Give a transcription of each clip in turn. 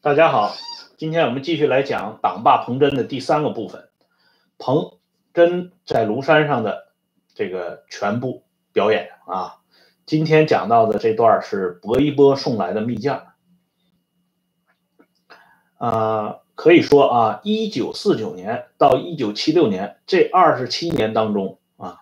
大家好，今天我们继续来讲党霸彭真的第三个部分，彭真在庐山上的这个全部表演啊。今天讲到的这段是薄一波送来的密件可以说啊，1949年到1976年这27年当中啊，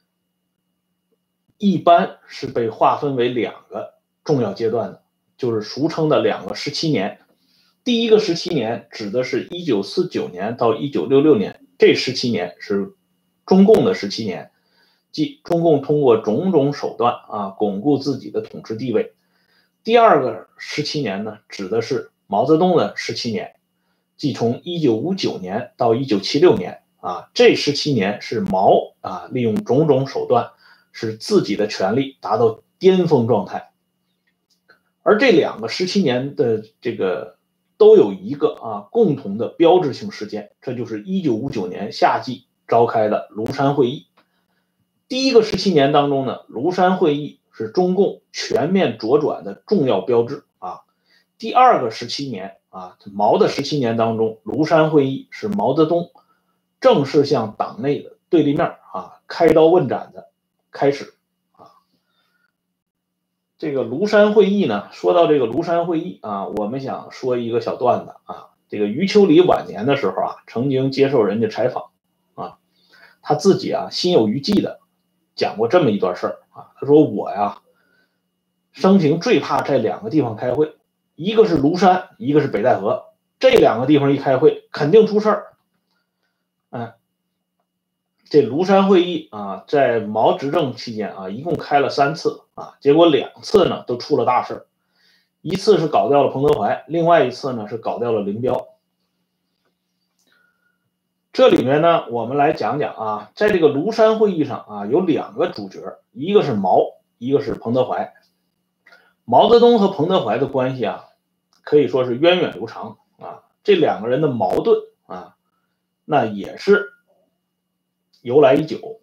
一般是被划分为两个重要阶段的，就是俗称的两个17年。第一个17年指的是1949年到1966年，这17年是中共的17年，即中共通过种种手段巩固自己的统治地位。第二个17年呢，指的是毛泽东的17年，即从1959年到1976年这17年是毛利用种种手段使自己的权力达到巅峰状态。而这两个17年的这个都有一个共同的标志性事件，这就是1959年夏季召开的庐山会议。第一个17年当中呢，庐山会议是中共全面左转的重要标志第二个17年毛的17年当中，庐山会议是毛泽东正式向党内的对立面开刀问斩的开始这个庐山会议呢，说到这个庐山会议我们想说一个小段子这个余秋里晚年的时候曾经接受人家采访他自己心有余悸的讲过这么一段事儿他说我生平最怕这两个地方开会，一个是庐山，一个是北戴河，这两个地方一开会肯定出事儿。这庐山会议在毛执政期间一共开了3次结果2次呢都出了大事，一次是搞掉了彭德怀，另外一次呢是搞掉了林彪。这里面呢，我们来讲讲在这个庐山会议上有2个主角，一个是毛，一个是彭德怀。毛泽东和彭德怀的关系可以说是源远流长这2个人的矛盾那也是由来已久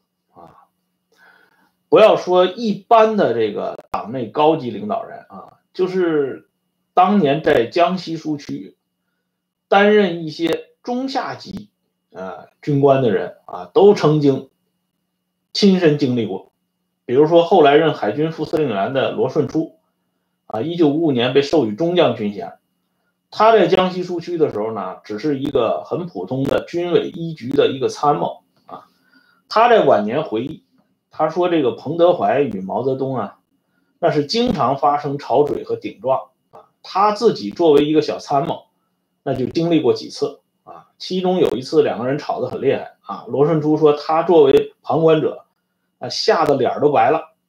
不要说一般的这个党内高级领导人就是当年在江西苏区担任一些中下级军官的人都曾经亲身经历过。比如说后来任海军副司令员的罗顺初1955年被授予中将军衔，他在江西苏区的时候呢，只是一个很普通的军委一局的一个参谋他在晚年回忆，他说这个彭德怀与毛泽东那是经常发生吵嘴和顶撞他自己作为一个小参谋，那就经历过几次其中有一次2个人吵得很厉害罗顺初说他作为旁观者吓得脸都白了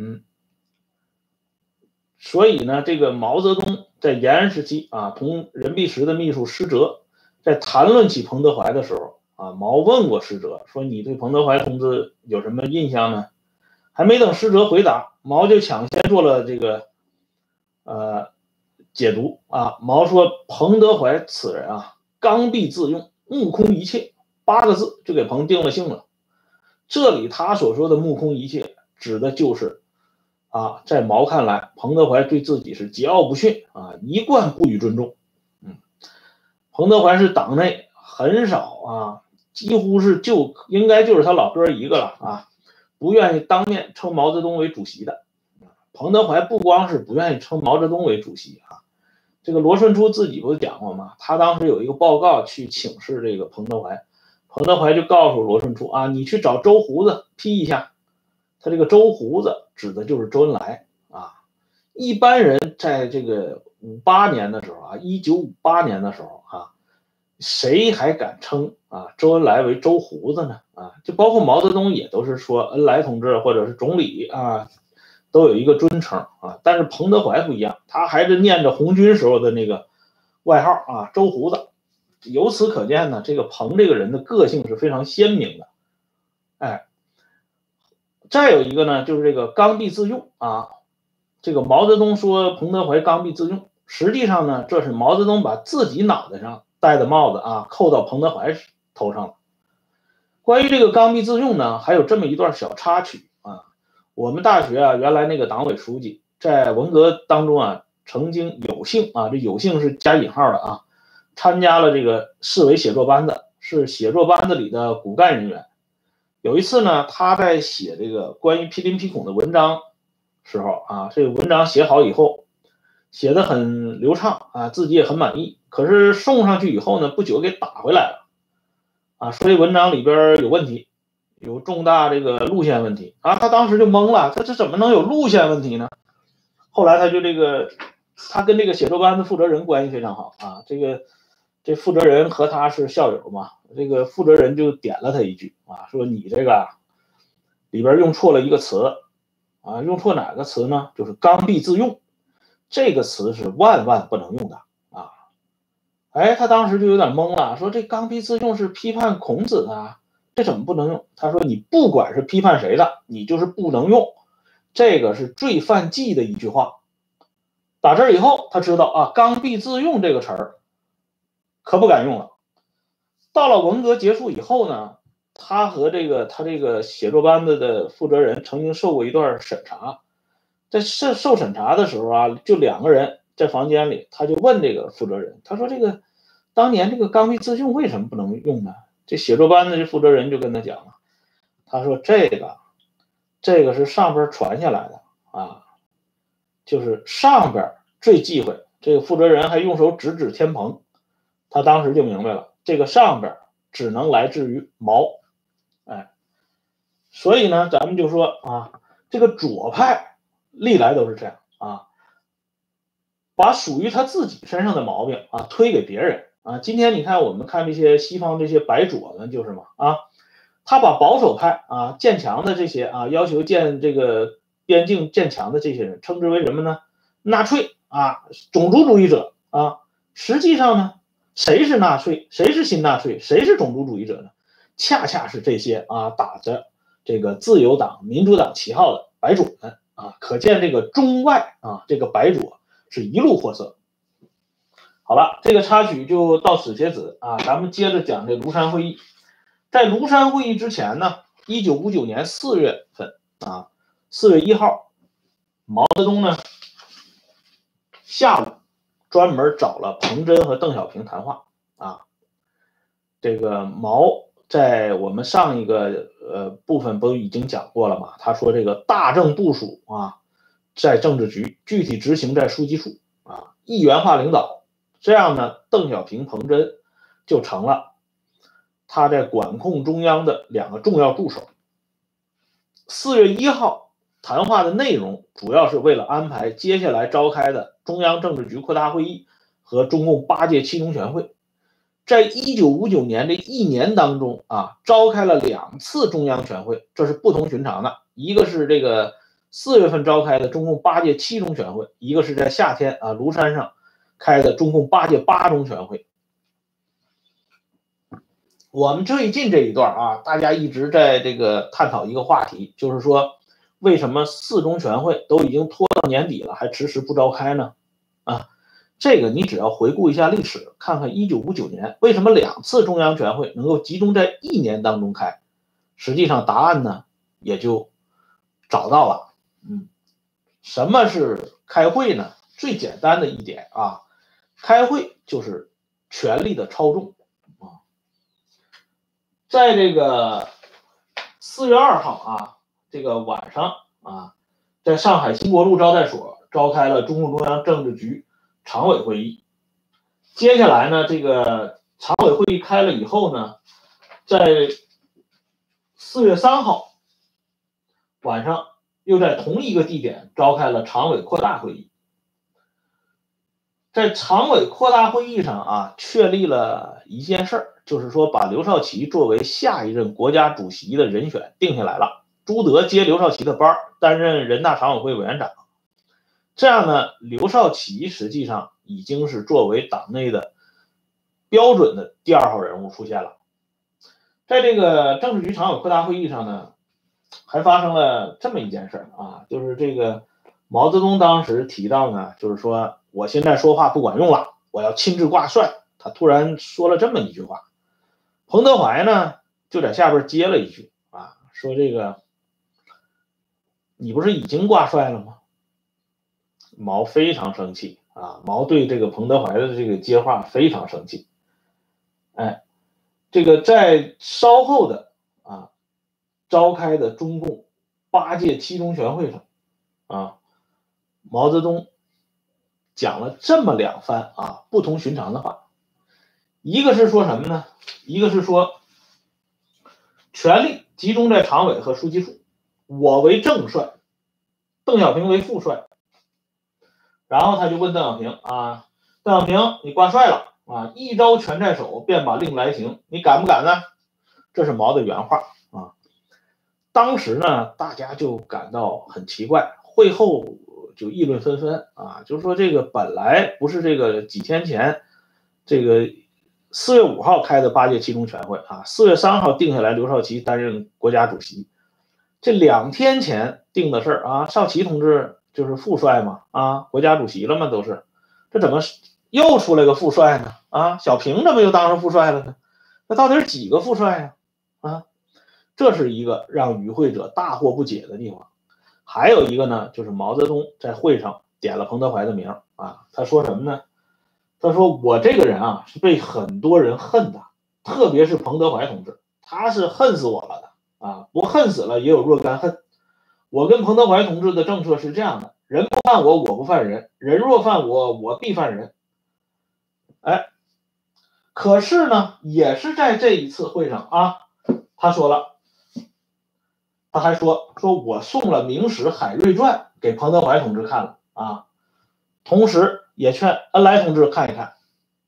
所以呢，这个毛泽东在延安时期同任弼时的秘书施哲在谈论起彭德怀的时候毛问过施哲说你对彭德怀同志有什么印象呢？还没等施哲回答，毛就抢先做了这个解读毛说彭德怀此人刚愎自用，目空一切，8个字就给彭定了性了。这里他所说的目空一切指的就是在毛看来，彭德怀对自己是桀骜不驯一贯不予尊重彭德怀是党内很少几乎是应该就是他老哥一个了不愿意当面称毛泽东为主席的。彭德怀不光是不愿意称毛泽东为主席这个罗顺初自己不是讲过吗？他当时有一个报告去请示这个彭德怀，彭德怀就告诉罗顺初你去找周胡子批一下。他这个周胡子指的就是周恩来一般人在这个58年的时候1958年的时候谁还敢称周恩来为周胡子呢就包括毛泽东也都是说恩来同志或者是总理都有一个尊称但是彭德怀不一样，他还是念着红军时候的那个外号周胡子。由此可见呢，这个彭这个人的个性是非常鲜明的再有一个呢，就是这个刚愎自用这个毛泽东说彭德怀刚愎自用，实际上呢，这是毛泽东把自己脑袋上戴的帽子扣到彭德怀头上了。关于这个刚愎自用呢，还有这么一段小插曲我们大学原来那个党委书记在文革当中曾经有有幸啊，这有幸是加引号的啊，参加了这个市委写作班子，是写作班子里的骨干人员。有一次呢，他在写这个关于毗邻毗孔的文章时候啊，这个文章写好以后，写得很流畅啊，自己也很满意。可是送上去以后呢，不久给打回来了啊，说这文章里边有问题，有重大这个路线问题啊。他当时就懵了，他这怎么能有路线问题呢？后来他就他跟这个写作班的负责人关系非常好啊，这负责人和他是校友嘛，这个负责人就点了他一句啊，说你这个里边用错了一个词啊，用错哪个词呢？就是刚愎自用，这个词是万万不能用的啊。哎，他当时就有点懵了，说这刚愎自用是批判孔子的啊，这怎么不能用？他说你不管是批判谁的，你就是不能用，这个是罪犯忌的一句话。打这以后，他知道啊，刚愎自用这个词儿可不敢用了。到了文革结束以后呢，他和他这个写作班子的负责人曾经受过一段审查，在受审查的时候啊，就两个人在房间里，他就问这个负责人，他说这个当年这个刚愎自用为什么不能用呢？这写作班的这负责人就跟他讲了，他说这个是上边传下来的啊，就是上边最忌讳。这个负责人还用手指天蓬，他当时就明白了，这个上边只能来自于毛。哎，所以呢，咱们就说啊，这个左派历来都是这样啊，把属于他自己身上的毛病啊推给别人啊。今天你看我们看这些西方这些白左们就是嘛啊，他把保守派啊建墙的这些啊要求建这个边境建墙的这些人称之为什么呢？纳粹啊，种族主义者啊。实际上呢，谁是纳粹？谁是新纳粹？谁是种族主义者呢？恰恰是这些啊打着这个自由党、民主党旗号的白左们啊。可见这个中外啊，这个白左是一路货色。好了，这个插曲就到此截止啊，咱们接着讲这庐山会议。在庐山会议之前呢，1959年4月份啊，4月1号，毛泽东呢下午专门找了彭真和邓小平谈话啊。这个毛在我们上一个部分不已经讲过了吗？他说这个大政部署啊，在政治局，具体执行在书记处啊，一元化领导。这样呢，邓小平、彭真就成了他在管控中央的两个重要助手。4月1号谈话的内容主要是为了安排接下来召开的中央政治局扩大会议和中共8届七中全会。在1959年这一年当中啊，召开了2次中央全会，这是不同寻常的。一个是这个4月份召开的中共8届七中全会，一个是在夏天啊庐山上开的中共8届八中全会。我们最近这一段啊，大家一直在这个探讨一个话题，就是说为什么4中全会都已经拖到年底了，还迟迟不召开呢？啊，这个你只要回顾一下历史，看看1959年为什么2次中央全会能够集中在一年当中开，实际上答案呢也就找到了。什么是开会呢？最简单的一点啊，开会就是权力的操纵啊。在这个4月2号啊，这个晚上啊，在上海新国路招待所召开了中共中央政治局常委会议。接下来呢，这个常委会议开了以后呢，在4月3号晚上又在同一个地点召开了常委扩大会议。在常委扩大会议上啊，确立了一件事儿，就是说把刘少奇作为下一任国家主席的人选定下来了。朱德接刘少奇的班，担任人大常委会委员长。这样呢，刘少奇实际上已经是作为党内的标准的第2号人物出现了。在这个政治局常委扩大会议上呢，还发生了这么一件事啊，就是这个毛泽东当时提到呢，就是说我现在说话不管用了，我要亲自挂帅。他突然说了这么一句话，彭德怀呢就在下边接了一句啊，说这个你不是已经挂帅了吗？毛非常生气啊，毛对这个彭德怀的这个接话非常生气。哎，这个在稍后的召开的中共8届七中全会上啊，毛泽东讲了这么2番不同寻常的话。一个是说什么呢？一个是说权力集中在常委和书记处，我为正帅，邓小平为副帅。然后他就问邓小平邓小平你挂帅了一招权在手，便把令来行，你敢不敢呢？这是毛的原话当时呢，大家就感到很奇怪，会后就议论纷纷就是说这个本来不是这个几天前，这个4月5号开的8届七中全会4月3号定下来刘少奇担任国家主席，这2天前定的事少奇同志就是副帅嘛国家主席了嘛都是，这怎么又出来个副帅呢小平怎么又当上副帅了呢？那到底是几个副帅这是一个让与会者大惑不解的地方。还有一个呢，就是毛泽东在会上点了彭德怀的名他说什么呢？他说我这个人是被很多人恨的，特别是彭德怀同志，他是恨死我了的不恨死了也有若干恨。我跟彭德怀同志的政策是这样的，人不犯我，我不犯人，人若犯我，我必犯人。可是呢，也是在这一次会上他说了，他还说我送了明史《海瑞传》给彭德怀同志看了同时也劝恩来同志看一看。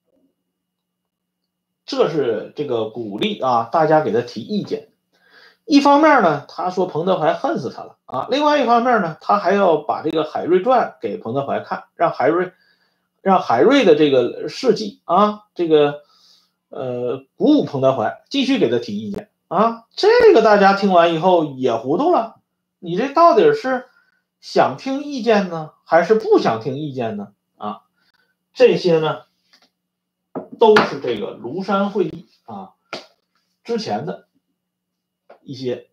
这是这个鼓励大家给他提意见。一方面呢，他说彭德怀恨死他了另外一方面呢，他还要把这个《海瑞传》给彭德怀看，让海瑞的这个事迹这个鼓舞彭德怀继续给他提意见这个大家听完以后也糊涂了，你这到底是想听意见呢，还是不想听意见呢这些呢都是这个庐山会议之前的一些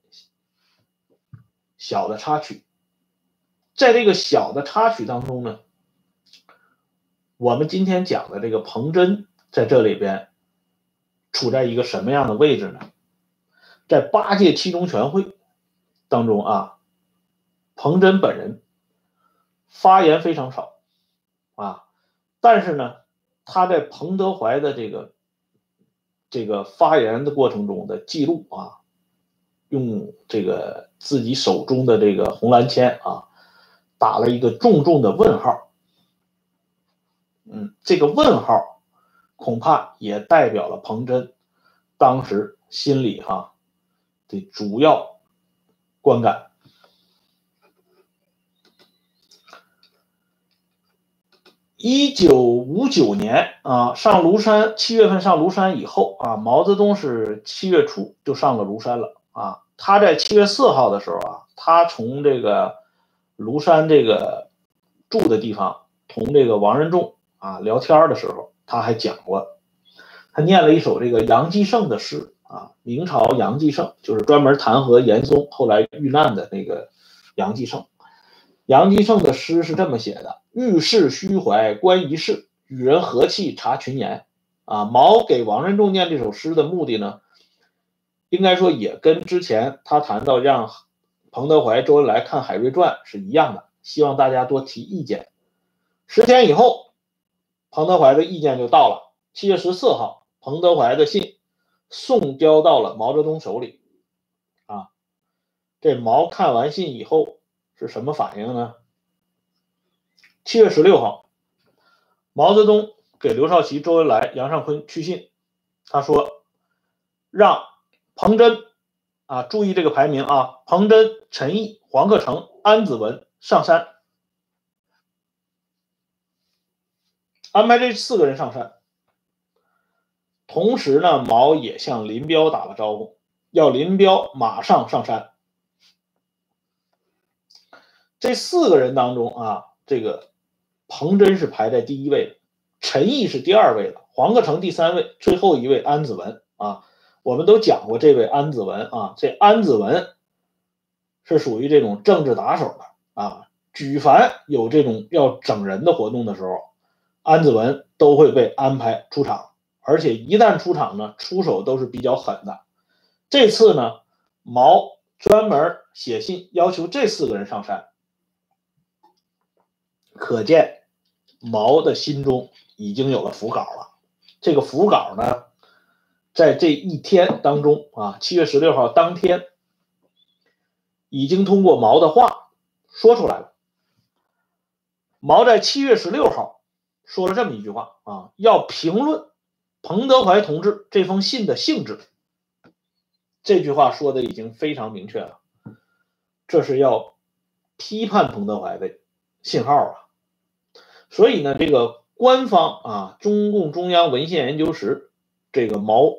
小的插曲。在这个小的插曲当中呢，我们今天讲的这个彭真在这里边处在一个什么样的位置呢？在8届七中全会当中彭真本人发言非常少但是呢，他在彭德怀的这个发言的过程中的记录用这个自己手中的这个红蓝签打了一个重重的问号。这个问号恐怕也代表了彭真当时心里的主要观感。1959年上庐山，7月份上庐山以后毛泽东是7月初就上了庐山了他在7月4号的时候他从这个庐山这个住的地方同这个王任重聊天的时候，他还讲过，他念了一首这个杨继盛的诗明朝杨继盛就是专门弹劾严嵩后来遇难的那个杨继盛。杨继盛的诗是这么写的：遇事虚怀观一事，与人和气察群言毛给王任重念这首诗的目的呢，应该说也跟之前他谈到让彭德怀、周恩来看《海瑞传》是一样的，希望大家多提意见。10天以后，彭德怀的意见就到了。7月14号，彭德怀的信送交到了毛泽东手里这毛看完信以后是什么反应呢？7月16号，毛泽东给刘少奇、周恩来、杨尚昆去信，他说让彭真注意这个排名彭真、陈毅、黄克诚、安子文上山，安排这4个人上山。同时呢，毛也向林彪打了招呼，要林彪马上上山。这4个人当中这个彭真是排在第1位的，陈毅是第2位的，黄克诚第3位，最后一位安子文我们都讲过这位安子文这安子文是属于这种政治打手的举凡有这种要整人的活动的时候， 安子文都会被安排出场，而且一旦出场呢，出手都是比较狠的。这次呢，毛专门写信要求这4个人上山，可见毛的心中已经有了伏稿了。这个伏稿呢，在这一天当中啊，7月16号当天，已经通过毛的话说出来了。毛在7月16号说了这么一句话啊，要评论彭德怀同志这封信的性质。这句话说的已经非常明确了，这是要批判彭德怀的信号啊。所以呢，这个官方啊，中共中央文献研究室这个毛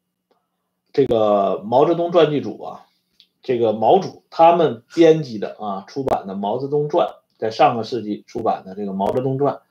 泽东传记组啊，这个毛主他们编辑的啊出版的《毛泽东传》，在上个世纪出版的这个《毛泽东传》，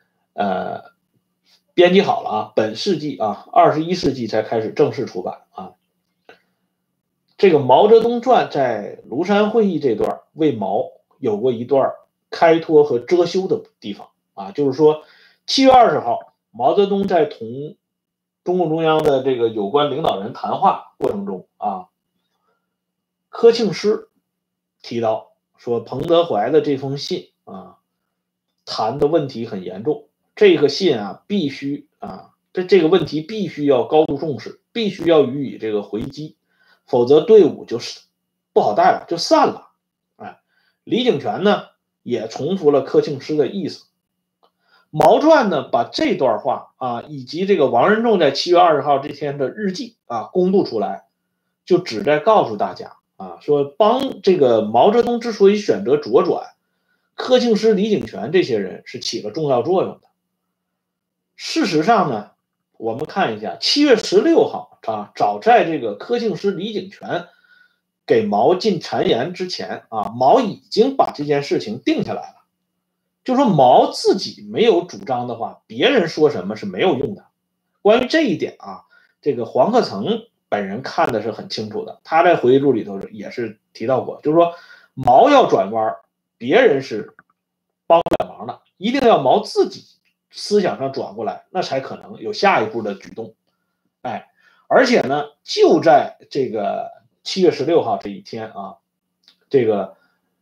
编辑好了啊，本世纪啊21世纪才开始正式出版啊。这个《毛泽东传》在庐山会议这段为毛有过一段开脱和遮羞的地方啊，就是说7月20号，毛泽东在同中共中央的这个有关领导人谈话过程中啊，柯庆施提到说彭德怀的这封信啊，谈的问题很严重，这个信啊必须啊，这个问题必须要高度重视，必须要予以这个回击，否则队伍就是不好带了，就散了。哎，李井泉呢也重复了柯庆施的意思。毛传呢把这段话啊，以及这个王任重在7月20号这天的日记啊公布出来，就旨在告诉大家啊，说帮这个毛泽东之所以选择左转，柯庆施、李井泉这些人是起了重要作用的。事实上呢，我们看一下7月16号啊，早在这个柯庆施、李井泉给毛进谗言之前啊，毛已经把这件事情定下来了。就说毛自己没有主张的话，别人说什么是没有用的。关于这一点啊，这个黄克诚本人看的是很清楚的，他在回忆录里头也是提到过，就是说毛要转弯，别人是帮不了忙的，一定要毛自己思想上转过来，那才可能有下一步的举动。哎，而且呢，就在这个7月16号这一天啊，这个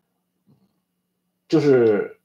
就是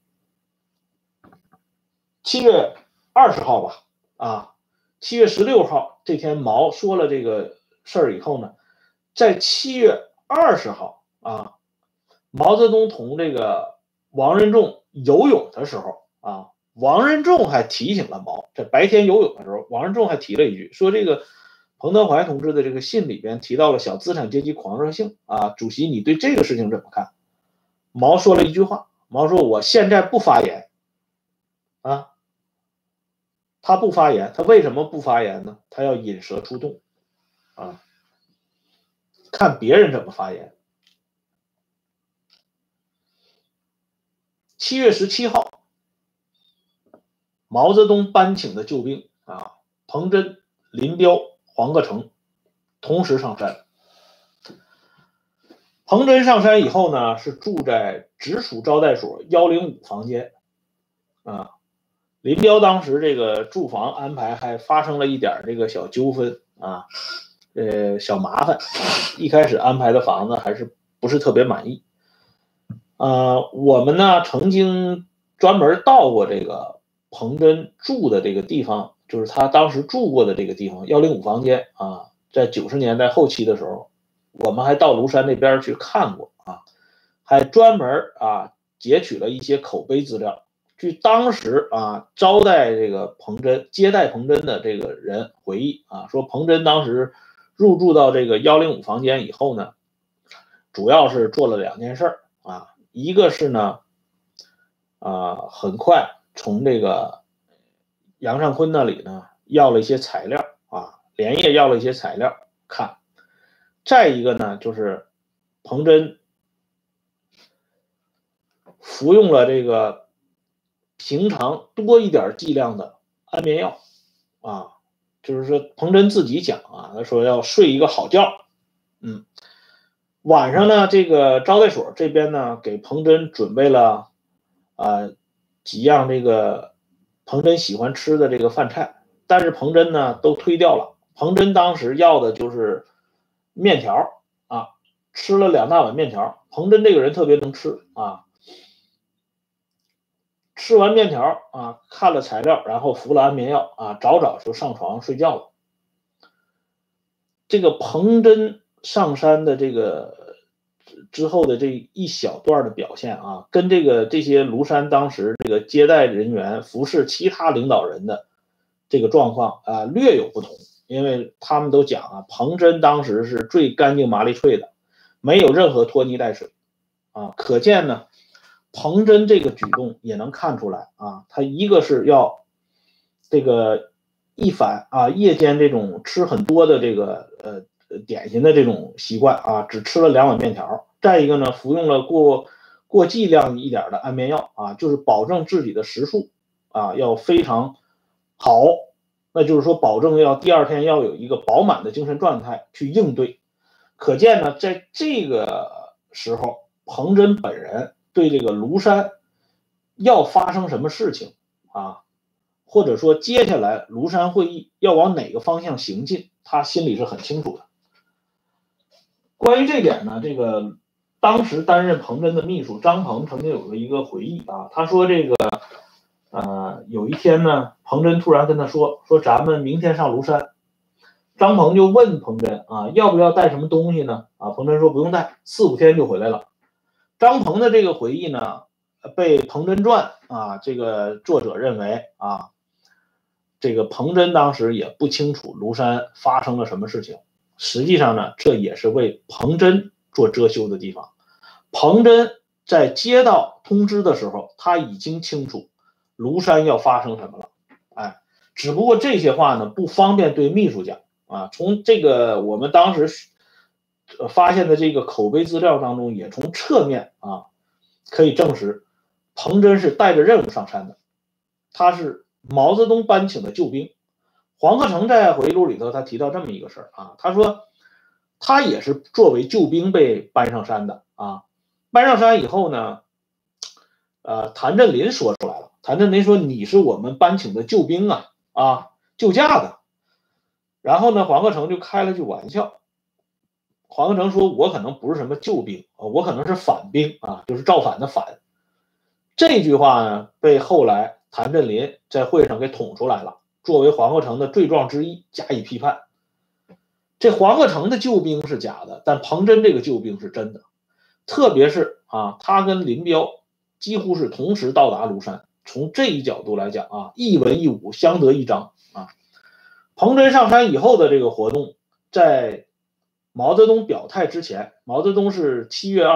7月20号吧，啊，7月16号这天毛说了这个事儿以后呢，在7月20号啊，毛泽东同这个王任重游泳的时候啊，王任重还提醒了毛，在白天游泳的时候，王任重还提了一句，说这个彭德怀同志的这个信里边提到了小资产阶级狂热性啊，主席你对这个事情怎么看？毛说了一句话，毛说我现在不发言啊。他不发言，他为什么不发言呢？他要引蛇出洞啊，看别人怎么发言。7月17号，毛泽东班请的救兵啊，彭真、林彪、黄克诚同时上山。彭真上山以后呢，是住在直属招待所105房间啊。林彪当时这个住房安排还发生了一点这个小纠纷啊，小麻烦。一开始安排的房子还是不是特别满意。我们呢曾经专门到过这个彭真住的这个地方，就是他当时住过的这个地方105房间啊，在90年代后期的时候，我们还到庐山那边去看过啊，还专门啊截取了一些口碑资料。据当时啊招待这个彭真、接待彭真的这个人回忆啊，说彭真当时入住到这个105房间以后呢，主要是做了2件事啊，一个是呢，很快从这个杨尚昆那里呢要了一些材料啊，连夜要了一些材料看。再一个呢，就是彭真服用了这个平常多一点剂量的安眠药啊，就是说彭真自己讲啊，他说要睡一个好觉。晚上呢，这个招待所这边呢给彭真准备了几样这个彭真喜欢吃的这个饭菜，但是彭真呢都推掉了。彭真当时要的就是面条啊，吃了2大碗面条。彭真这个人特别能吃啊，吃完面条啊，看了材料，然后服了安眠药啊，早早就上床睡觉了。这个彭真上山的这个之后的这一小段的表现啊，跟这些庐山当时这个接待人员服侍其他领导人的这个状况啊略有不同，因为他们都讲啊，彭真当时是最干净麻利脆的，没有任何拖泥带水啊，可见呢，彭真这个举动也能看出来啊，他一个是要这个一反啊夜间这种吃很多的这个点心的这种习惯啊，只吃了2碗面条。再一个呢，服用了过剂量一点的安眠药啊，就是保证自己的食宿啊要非常好，那就是说保证要第2天要有一个饱满的精神状态去应对。可见呢，在这个时候，彭真本人对这个庐山要发生什么事情啊，或者说接下来庐山会议要往哪个方向行进，他心里是很清楚的。关于这点呢，这个当时担任彭真的秘书张鹏曾经有过一个回忆啊，他说这个有一天呢，彭真突然跟他说咱们明天上庐山。张鹏就问彭真啊，要不要带什么东西呢？啊，彭真说不用带，4、5天就回来了。张鹏的这个回忆呢，被《彭真传》啊这个作者认为啊，这个彭真当时也不清楚庐山发生了什么事情。实际上呢，这也是为彭真做遮羞的地方。彭真在接到通知的时候，他已经清楚庐山要发生什么了，哎，只不过这些话呢不方便对秘书讲啊。从这个我们当时发现的这个口碑资料当中，也从侧面啊可以证实，彭真是带着任务上山的，他是毛泽东班请的救兵。黄克诚在回忆录里头，他提到这么一个事儿啊，他说他也是作为救兵被搬上山的啊。搬上山以后呢，谭震林说出来了，谭震林说你是我们班请的救兵啊，救驾的。然后呢，黄克诚就开了句玩笑，黄克诚说我可能不是什么救兵我可能是反兵啊，就是造反的反。这句话呢，被后来谭震林在会上给捅出来了，作为黄克诚的罪状之一加以批判。这黄克诚的救兵是假的，但彭真这个救兵是真的。特别是啊，他跟林彪几乎是同时到达庐山，从这一角度来讲啊，一文一武相得益彰啊。彭真上山以后的这个活动，在毛泽东表态之前，毛泽东是7月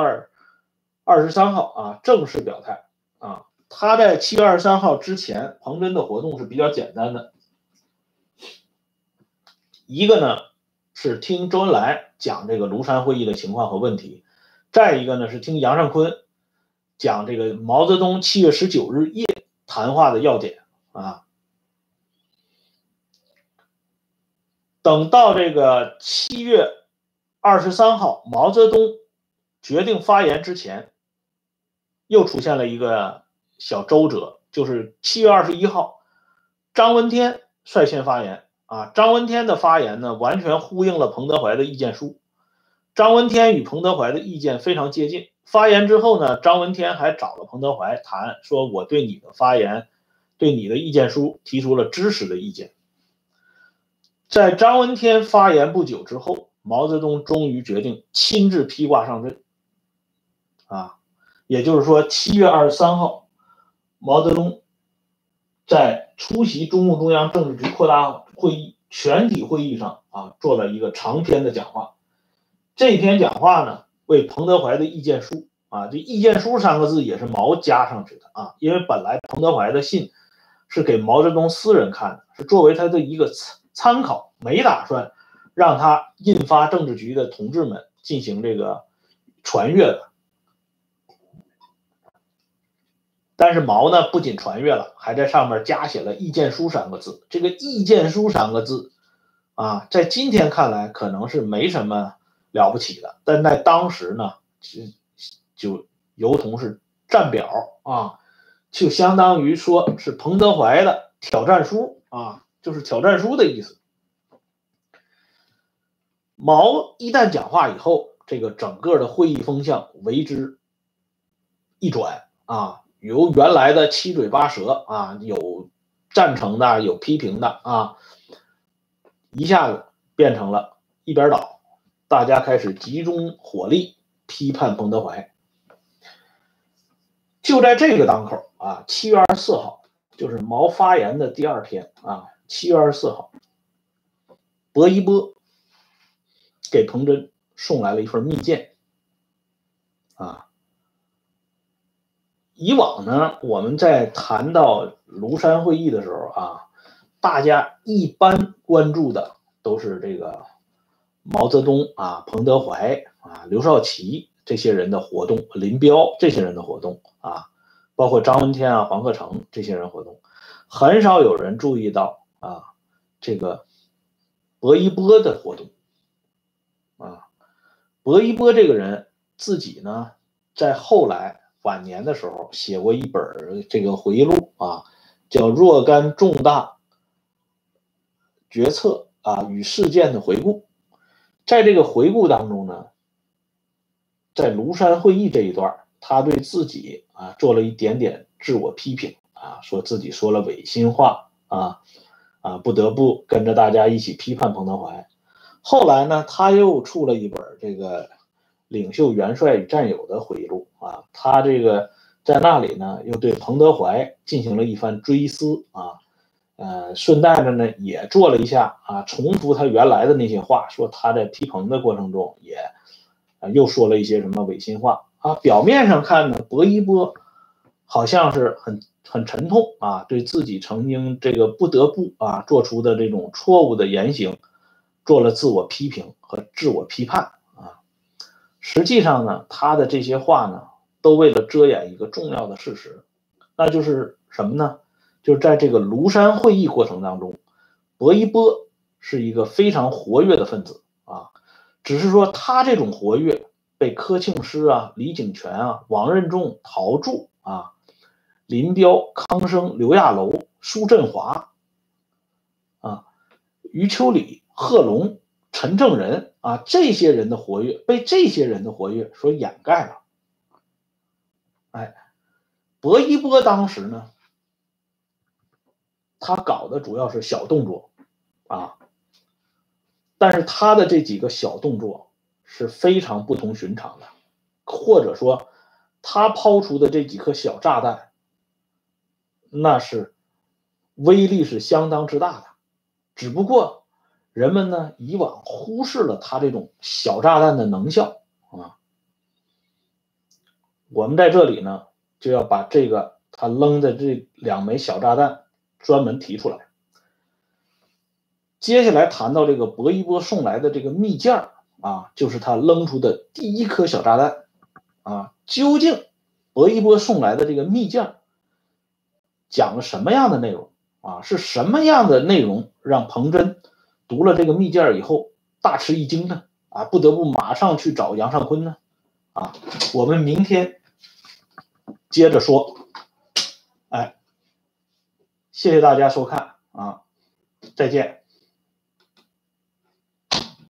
23号啊正式表态啊。他在7月23号之前，彭真的活动是比较简单的。一个呢是听周恩来讲这个庐山会议的情况和问题，再一个呢是听杨尚昆讲这个毛泽东7月19日夜谈话的要点啊。等到这个7月23号毛泽东决定发言之前，又出现了一个小周折，就是7月21号张闻天率先发言啊。张闻天的发言呢，完全呼应了彭德怀的意见书。张闻天与彭德怀的意见非常接近。发言之后呢，张闻天还找了彭德怀谈，说我对你的发言，对你的意见书提出了支持的意见。在张闻天发言不久之后，毛泽东终于决定亲自披挂上阵啊，也就是说7月23号，毛泽东在出席中共中央政治局扩大会议全体会议上啊，做了一个长篇的讲话。这篇讲话呢，为彭德怀的意见书啊，这意见书3个字也是毛加上去的啊，因为本来彭德怀的信是给毛泽东私人看的，是作为他的一个参考，没打算让他印发政治局的同志们进行这个传阅的。但是毛呢，不仅传阅了，还在上面加写了意见书3个字。这个意见书3个字啊，在今天看来可能是没什么了不起的，但在当时呢，就如同是站表啊， 就相当于说是彭德怀的挑战书啊，就是挑战书的意思。毛一旦讲话以后，这个整个的会议风向为之一转啊，由原来的七嘴八舌啊，有赞成的，有批评的啊，一下子变成了一边倒，大家开始集中火力批判彭德怀。就在这个当口啊，7月24号，就是毛发言的第二天啊，7月24号，薄一波给彭真送来了一份密件啊。以往呢，我们在谈到庐山会议的时候啊，大家一般关注的都是这个毛泽东啊、彭德怀啊、刘少奇这些人的活动，林彪这些人的活动啊，包括张闻天啊、黄克诚这些人活动，很少有人注意到啊这个薄一波的活动啊。薄一波这个人自己呢，在后来晚年的时候写过一本这个回忆录啊，叫《若干重大决策啊与事件的回顾》。在这个回顾当中呢，在庐山会议这一段，他对自己啊做了一点点自我批评啊，说自己说了违心话啊，不得不跟着大家一起批判彭德怀。后来呢，他又出了一本这个领袖元帅与战友的回忆录啊，他这个在那里呢又对彭德怀进行了一番追思啊，顺带着呢也做了一下啊，重复他原来的那些话，说他在批彭的过程中也又说了一些什么违心话啊。表面上看呢，薄一波好像是很沉痛啊，对自己曾经这个不得不啊做出的这种错误的言行做了自我批评和自我批判啊。实际上呢，他的这些话呢，都为了遮掩一个重要的事实，那就是什么呢？就是在这个庐山会议过程当中，薄一波是一个非常活跃的分子啊，只是说他这种活跃被柯庆施啊、李井泉啊、王任重、陶铸啊、林彪、康生、刘亚楼、苏振华啊、余秋里、贺龙、陈正仁啊这些人的活跃被这些人的活跃所掩盖了。哎，薄一波当时呢，他搞的主要是小动作啊，但是他的这几个小动作是非常不同寻常的，或者说他抛出的这几颗小炸弹，那是威力是相当之大的。只不过人们呢以往忽视了他这种小炸弹的能效啊。我们在这里呢就要把这个他扔的这2枚小炸弹专门提出来。接下来谈到这个薄一波送来的这个密件啊，就是他扔出的第一颗小炸弹啊。究竟薄一波送来的这个密件讲了什么样的内容啊？是什么样的内容让彭真读了这个密件以后大吃一惊呢？啊，不得不马上去找杨尚昆呢？啊，我们明天接着说。哎，谢谢大家收看啊，再见。